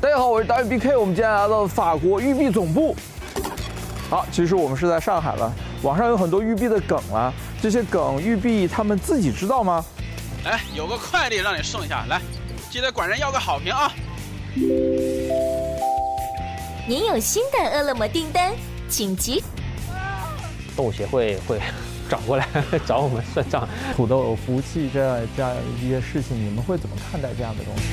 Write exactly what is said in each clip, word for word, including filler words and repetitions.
大家好，我是导演 B K， 我们今天来到法国育碧总部。好，其实我们是在上海了。网上有很多育碧的梗啊，这些梗育碧他们自己知道吗？ 来，有个快递让你送一下，来，记得管人要个好评啊。 您有新的饿了么订单，请及。 动物协会会找过来找我们算账。 土豆有服务器这样这样一些事情，你们会怎么看待这样的东西？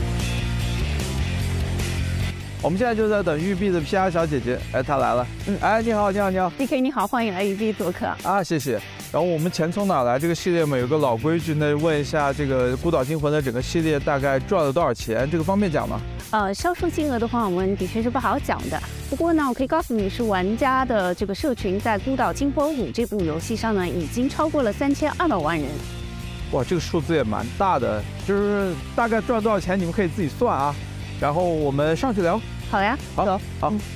我们现在就在等育碧的 P R 小姐姐，哎，她来了。嗯，哎，你好，你好，你好 ，B K 你好，欢迎来育碧做客啊，谢谢。然后我们钱从哪来这个系列嘛，有个老规矩呢，问一下这个《孤岛惊魂》的整个系列大概赚了多少钱？这个方便讲吗？ 呃，销售金额的话，我们的确是不好讲的。不过呢，我可以告诉你是玩家的这个社群在《孤岛惊魂五》这部游戏上呢，已经超过了三千二百万人。 哇，这个数字也蛮大的，就是大概赚多少钱，你们可以自己算啊。然后我们上去聊。 好呀， 好， 走， 好。嗯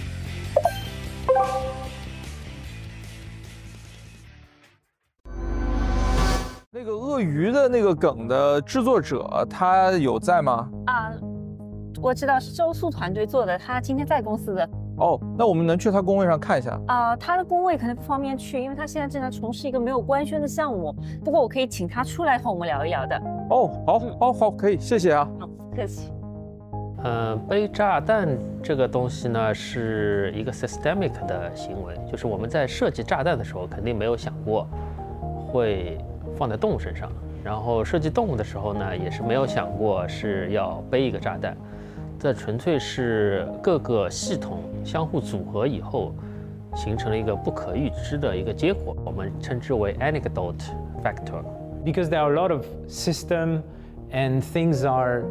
那个鳄鱼的那个梗的制作者，他有在吗？ 啊，我知道是周速团队做的，他今天在公司的。 哦，那我们能去他工位上看一下？ 啊，他的工位可能不方便去，因为他现在正在从事一个没有官宣的项目。不过我可以请他出来和我们聊一聊的。 哦，好，好，好，可以，谢谢啊。 好，不客气。 呃，背炸弹这个东西呢，是一个 systemic 的行为，就是我们在设计炸弹的时候，肯定没有想过会放在动物身上，然后设计动物的时候呢，也是没有想过是要背一个炸弹，这纯粹是各个系统相互组合以后，形成了一个不可预知的一个结果，我们称之为 anecdote factor. Because there are a lot of system and things are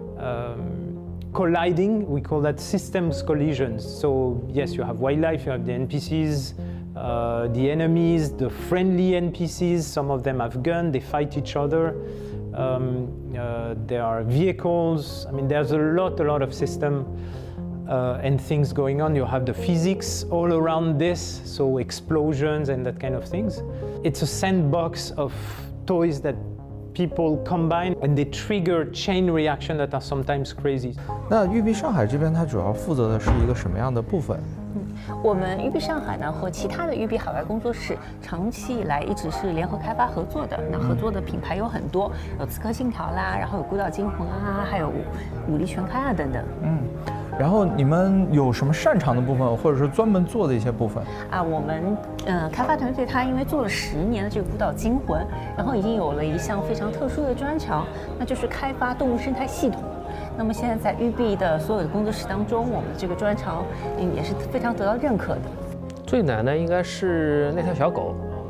um, colliding, we call that systems collisions. So yes, you have wildlife, you have the N P Cs, uh, the enemies, the friendly N P Cs, some of them have guns, they fight each other. Um, uh, there are vehicles, I mean there's a lot, a lot of system uh, and things going on. You have the physics all around this, so explosions and that kind of things. It's a sandbox of toys that people combine and they trigger chain reaction that are sometimes crazy. 那育碧上海这边，它主要负责的是一个什么样的部分？ 嗯，我们育碧上海呢和其他的育碧海外工作室长期以来一直是联合开发合作的。那合作的品牌有很多，有《刺客信条》啦，然后有《孤岛惊魂》啊，还有《武力全开》啊等等。嗯。 然后你们有什么擅长的部分，或者是专门做的一些部分？ 啊，我们呃开发团队他因为做了十年的这个《孤岛惊魂》，然后已经有了一项非常特殊的专长，那就是开发动物生态系统。那么现在在育碧的所有的工作室当中，我们的这个专长也是非常得到认可的。 最难的应该是那条小狗，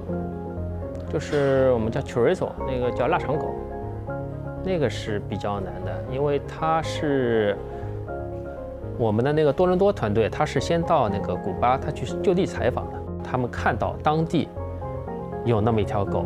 就是我们叫 chorizo， 那个叫腊肠狗，那个是比较难的，因为它是。我们的那个多伦多团队，他是先到那个古巴，他去就地采访的。他们看到当地有那么一条狗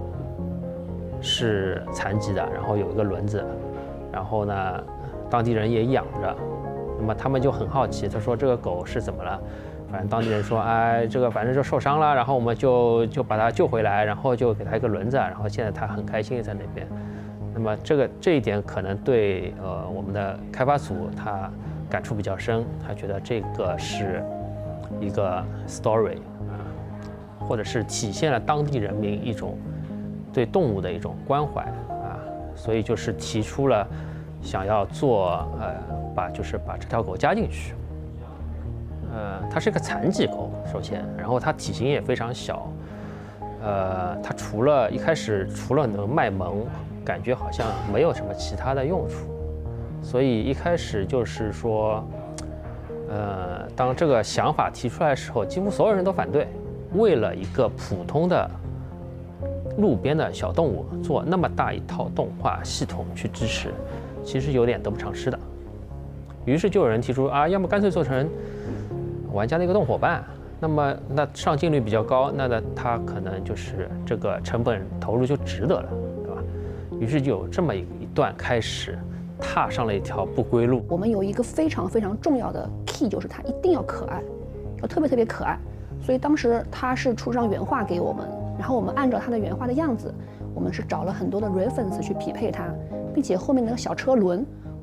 是残疾的，然后有一个轮子，然后呢，当地人也养着。那么他们就很好奇，他说这个狗是怎么了？反正当地人说，哎，这个反正就受伤了，然后我们就就把它救回来，然后就给它一个轮子，然后现在它很开心在那边。那么这个这一点可能对呃我们的开发组他。感触比较深，他觉得这个是一个 story 啊，或者是体现了当地人民一种对动物的一种关怀啊，所以就是提出了想要做呃，把就是把这条狗加进去。呃，它是一个残疾狗，首先，然后它体型也非常小，呃，它除了一开始除了能卖萌，感觉好像没有什么其他的用处。所以一开始就是说，呃，当这个想法提出来的时候，几乎所有人都反对。为了一个普通的路边的小动物做那么大一套动画系统去支持，其实有点得不偿失的。于是就有人提出啊，要么干脆做成玩家的一个动伙伴，那么那上镜率比较高，那那它可能就是这个成本投入就值得了，对吧？于是就有这么一段开始。踏上了一条不归路。 我们有一个非常非常重要的 key， 就是它一定要可爱，要特别特别可爱。所以当时他是出张原画给我们，然后我们按照他的原画的样子，我们是找了很多的 reference 去匹配它，并且后面那个小车轮，我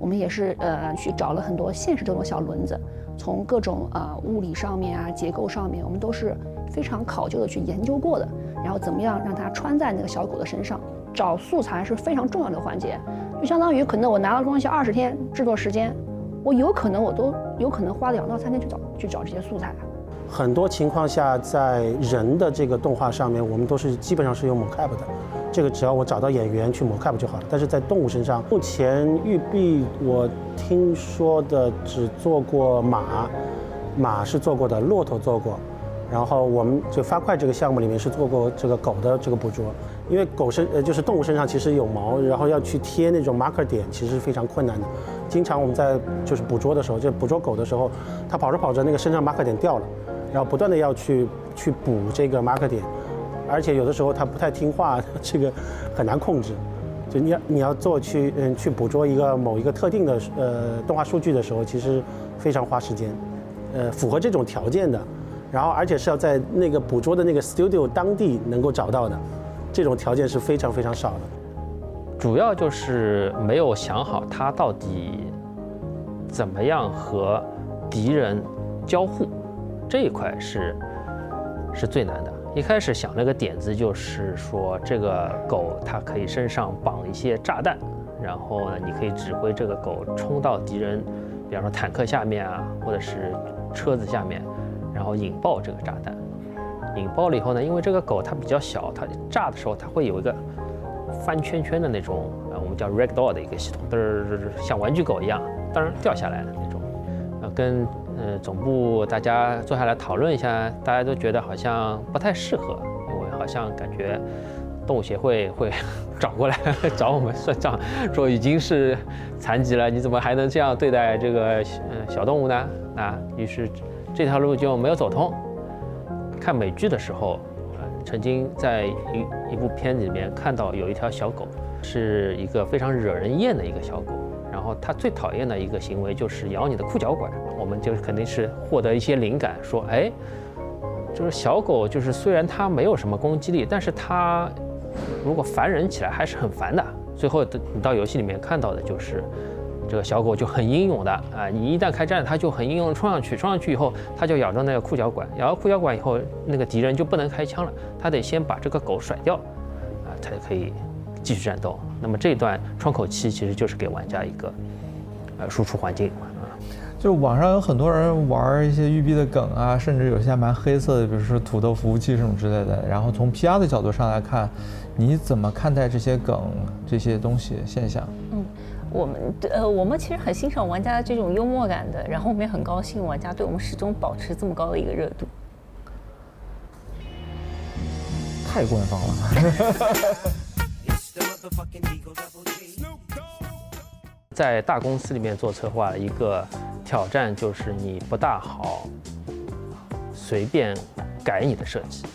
我们也是呃去找了很多现实中的小轮子，从各种呃物理上面啊、结构上面，我们都是非常考究的去研究过的。然后怎么样让它穿在那个小狗的身上？找素材是非常重要的环节，就相当于可能我拿到东西二十天制作时间，我有可能我都有可能花两到三天去找去找这些素材。 很多情况下，在人的这个动画上面，我们都是基本上是用 mocap 的，这个只要我找到演员去 mocap 就好了。但是在动物身上，目前育碧我听说的只做过马，马是做过的，骆驼做过，然后我们就发快这个项目里面是做过这个狗的这个捕捉，因为狗身呃就是动物身上其实有毛，然后要去贴那种 marker 点，其实是非常困难的。经常我们在就是捕捉的时候，就捕捉狗的时候，它跑着跑着那个身上 marker 点掉了。然后不断的要去去补这个 marker 点，而且有的时候它不太听话，这个很难控制。就你要你要做去嗯去捕捉一个某一个特定的呃动画数据的时候，其实非常花时间。呃，符合这种条件的，然后而且是要在那个捕捉的那个 studio 当地能够找到的，这种条件是非常非常少的。 主要就是没有想好它到底怎么样和敌人交互。这一块是是最难的。一开始想了个点子，就是说这个狗它可以身上绑一些炸弹，然后呢，你可以指挥这个狗冲到敌人，比方说坦克下面啊，或者是车子下面，然后引爆这个炸弹。引爆了以后呢，因为这个狗它比较小，它炸的时候它会有一个翻圈圈的那种，呃，我们叫 ragdoll 的一个系统，嘚儿像玩具狗一样，当然掉下来的那种，呃，跟。呃，总部大家坐下来讨论一下，大家都觉得好像不太适合，因为好像感觉动物协会会找过来找我们算账，说已经是残疾了，你怎么还能这样对待这个呃小动物呢？啊，于是这条路就没有走通。看美剧的时候，呃，曾经在一一部片子里面看到有一条小狗，是一个非常惹人厌的一个小狗。然后它最讨厌的一个行为就是咬你的裤脚管，我们就肯定是获得一些灵感，说，哎，就是小狗，就是虽然它没有什么攻击力，但是它如果烦人起来还是很烦的。最后你到游戏里面看到的就是这个小狗就很英勇的啊，你一旦开战，它就很英勇的冲上去，冲上去以后，它就咬着那个裤脚管，咬到裤脚管以后，那个敌人就不能开枪了，它得先把这个狗甩掉，啊，才可以继续战斗。那么这一段窗口期其实就是给玩家一个呃输出环境啊。 就网上有很多人玩一些育碧的梗啊，甚至有些蛮黑色的，比如说土豆服务器这种之类的。然后从 P R 的角度上来看，你怎么看待这些梗这些东西现象？ 嗯，我们呃我们其实很欣赏玩家这种幽默感的，然后我们也很高兴玩家对我们始终保持这么高的一个热度。 太官方了。 在大公司里面做策划，一个挑战就是你不大好随便改你的设计。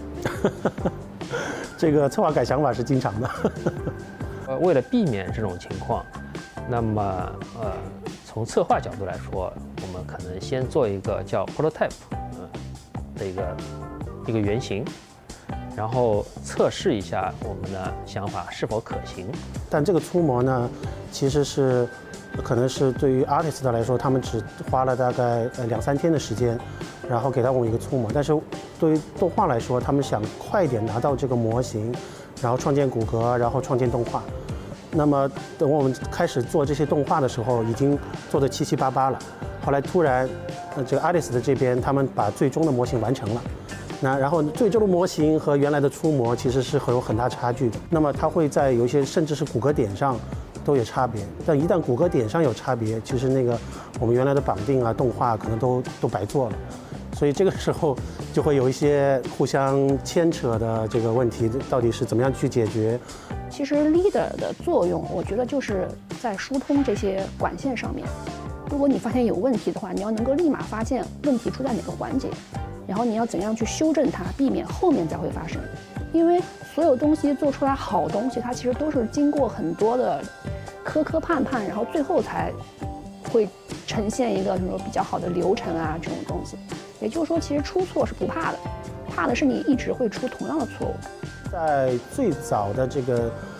这个策划改想法是经常的。 呃，为了避免这种情况，那么呃，从策划角度来说，我们可能先做一个叫 prototype 呃的一个一个原型。然后测试一下我们的想法是否可行。 但这个粗模呢，其实是可能是对于 artist 来说，他们只花了大概呃两三天的时间，然后给到我们一个粗模。但是对于动画来说，他们想快一点拿到这个模型，然后创建骨骼，然后创建动画。那么等我们开始做这些动画的时候，已经做得七七八八了。后来突然，呃，这个 artist 这边他们把最终的模型完成了。那然后最终的模型和原来的粗模其实是会有很大差距的。那么它会在有一些甚至是骨骼点上都有差别。但一旦骨骼点上有差别，其实那个我们原来的绑定啊、动画可能都都白做了。所以这个时候就会有一些互相牵扯的这个问题，到底是怎么样去解决？ 其实 leader 的作用，我觉得就是在疏通这些管线上面。如果你发现有问题的话，你要能够立马发现问题出在哪个环节。然后你要怎样去修正它，避免后面再会发生。因为所有东西做出来好东西，它其实都是经过很多的磕磕绊绊，然后最后才会呈现一个什么比较好的流程啊这种东西。也就是说，其实出错是不怕的，怕的是你一直会出同样的错误。 在最早的这个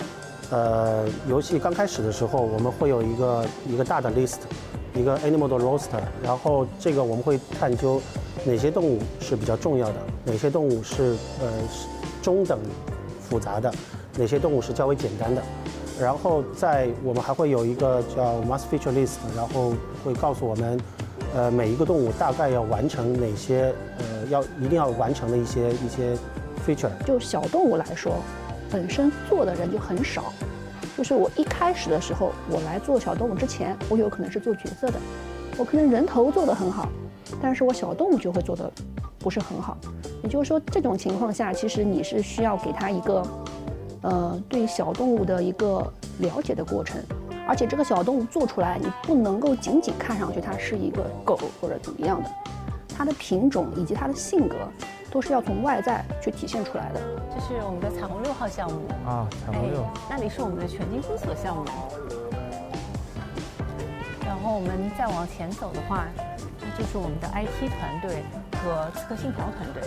呃，游戏刚开始的时候，我们会有一个一个大的 list， 一个 animal 的 roster， 然后这个我们会探究哪些动物是比较重要的，哪些动物是呃中等复杂的，哪些动物是较为简单的。然后在我们还会有一个叫 must feature list， 然后会告诉我们，呃，每一个动物大概要完成哪些呃要一定要完成的一些一些 feature。 就小动物来说，本身做的人就很少。就是我一开始的时候，我来做小动物之前，我有可能是做角色的，我可能人头做得很好，但是我小动物就会做得不是很好。也就是说，这种情况下，其实你是需要给它一个，呃，对小动物的一个了解的过程。而且这个小动物做出来，你不能够仅仅看上去它是一个狗或者怎么样的，它的品种以及它的性格，都是要从外在去体现出来的。 这是我们的彩虹六号项目啊，彩虹六、 哎，那里是我们的全境封锁项目。然后我们再往前走的话，那就是我们的 I T 团队和刺客信条团队。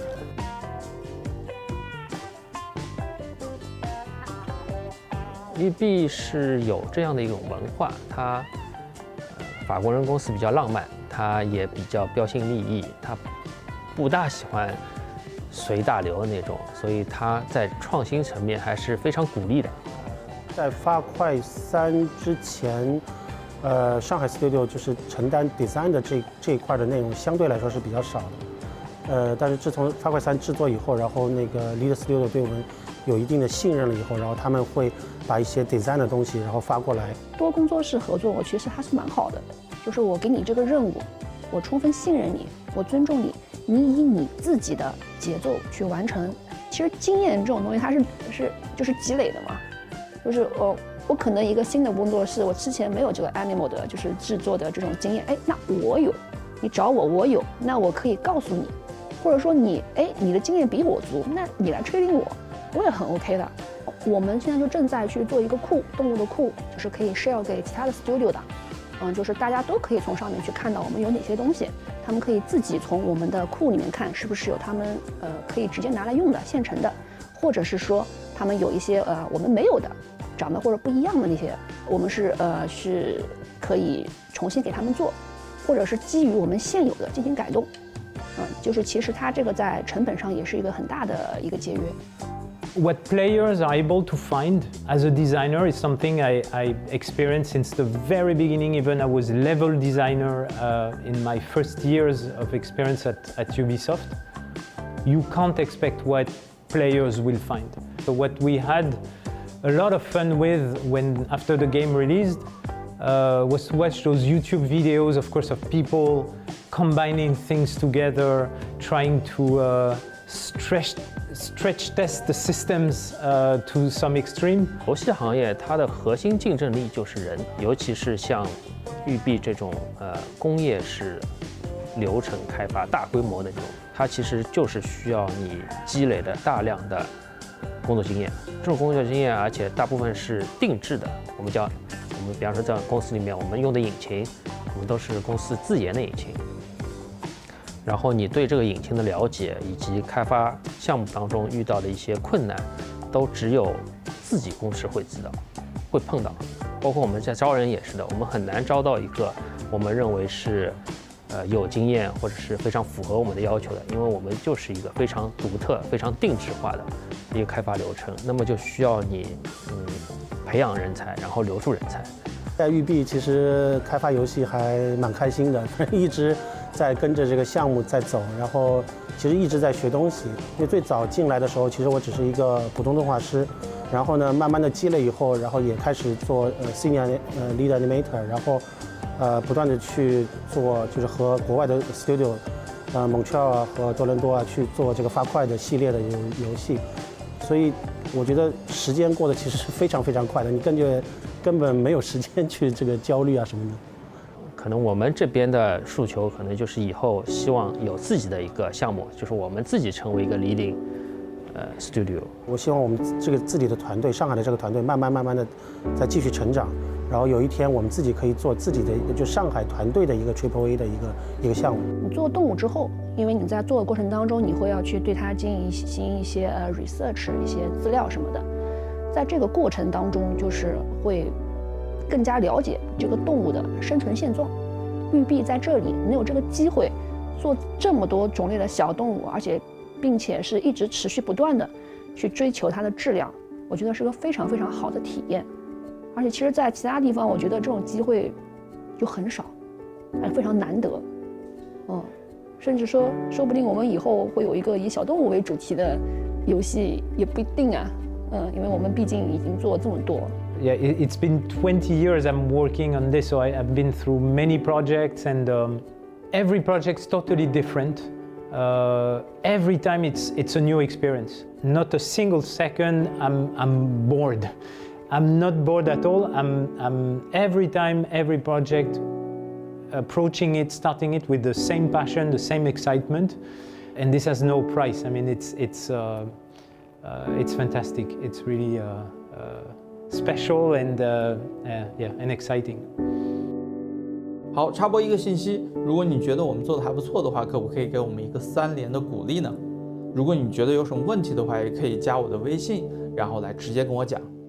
育碧是有这样的一种文化，它、呃、法国人公司比较浪漫，它也比较标新立异，它不大喜欢随大流的那种，所以它在创新层面还是非常鼓励的。 在发快三之前，呃，上海 Studio 就是承担 design 的这这一块的内容相对来说是比较少的，呃，但是自从发快三制作以后，然后那个 Lead Studio 对我们有一定的信任了以后，然后他们会把一些 design 的东西然后发过来。 多工作室合作，我其实还是蛮好的，就是我给你这个任务，我充分信任你，我尊重你，你以你自己的节奏去完成。其实经验这种东西，它是是就是积累的嘛，就是我我可能一个新的工作室，我之前没有这个 animal 的就是制作的这种经验，哎，那我有，你找我我有，那我可以告诉你，或者说你哎你的经验比我足，那你来吹领我，我也很 OK 的。我们现在就正在去做一个库，动物的库，就是可以 share 给其他的 studio 的，嗯，就是大家都可以从上面去看到我们有哪些东西，他们可以自己从我们的库里面看是不是有他们呃可以直接拿来用的现成的，或者是说他们有一些呃我们没有的，长得或者不一样的那些，我们是呃是可以重新给他们做，或者是基于我们现有的进行改动，嗯，就是其实它这个在成本上也是一个很大的一个节约。 What players are able to find as a designer is something I, I experienced since the very beginning. Even I was level designer uh, in my first years of experience at, at Ubisoft. You can't expect what players will find. So what we had a lot of fun with when after the game released uh, was to watch those YouTube videos, of course, of people combining things together, trying to uh, stretch stretch test the systems uh, to some extreme. 游戏行业它的核心竞争力就是人，尤其是像育碧这种呃工业式流程开发、大规模的这种，它其实就是需要你积累的大量的工作经验。这种工作经验，而且大部分是定制的。我们叫我们比方说在公司里面，我们用的引擎，我们都是公司自研的引擎。然后你对这个引擎的了解，以及开发项目当中遇到的一些困难，都只有自己公司会知道，会碰到。包括我们在招人也是的，我们很难招到一个我们认为是，呃有经验或者是非常符合我们的要求的，因为我们就是一个非常独特、非常定制化的一个开发流程。那么就需要你嗯培养人才，然后留住人才。 在育碧其实开发游戏还蛮开心的，一直在跟着这个项目在走，然后其实一直在学东西。因为最早进来的时候，其实我只是一个普通动画师，然后呢，慢慢的积累以后，然后也开始做呃 senior 呃 lead animator， 然后呃不断的去做，就是和国外的 studio， 呃蒙特利尔和多伦多啊去做这个发快的系列的游游戏，所以我觉得时间过得其实是非常非常快的，你根本根本没有时间去这个焦虑啊什么的。 可能我们这边的诉求，可能就是以后希望有自己的一个项目，就是我们自己成为一个 leading 呃 studio。 我希望我们这个自己的团队，上海的这个团队，慢慢慢慢的再继续成长，然后有一天我们自己可以做自己的，就上海团队的一个 Triple A 的一个一个项目。 你做动物之后，因为你在做的过程当中，你会要去对它进行一些呃 research 一些资料什么的。 在这个过程当中，就是会更加了解这个动物的生存现状。玉璧在这里能有这个机会做这么多种类的小动物，而且并且是一直持续不断的去追求它的质量，我觉得是个非常非常好的体验。而且其实在其他地方我觉得这种机会就很少，还非常难得。嗯，甚至说说不定我们以后会有一个以小动物为主题的游戏也不一定啊。嗯，因为我们毕竟已经做这么多。 Yeah, it, it's been twenty years I'm working on this, so I, I've been through many projects, and um, every project's totally different. Uh, every time it's it's a new experience. Not a single second I'm I'm bored. I'm not bored at all. I'm I'm every time every project approaching it, starting it with the same passion, the same excitement, and this has no price. I mean, it's it's uh, uh, it's fantastic. It's really uh, uh, special and uh, uh, yeah and exciting. 好，插播一个信息，如果你觉得我们做的还不错的话，可不可以给我们一个三连的鼓励呢？如果你觉得有什么问题的话，也可以加我的微信，然后来直接跟我讲。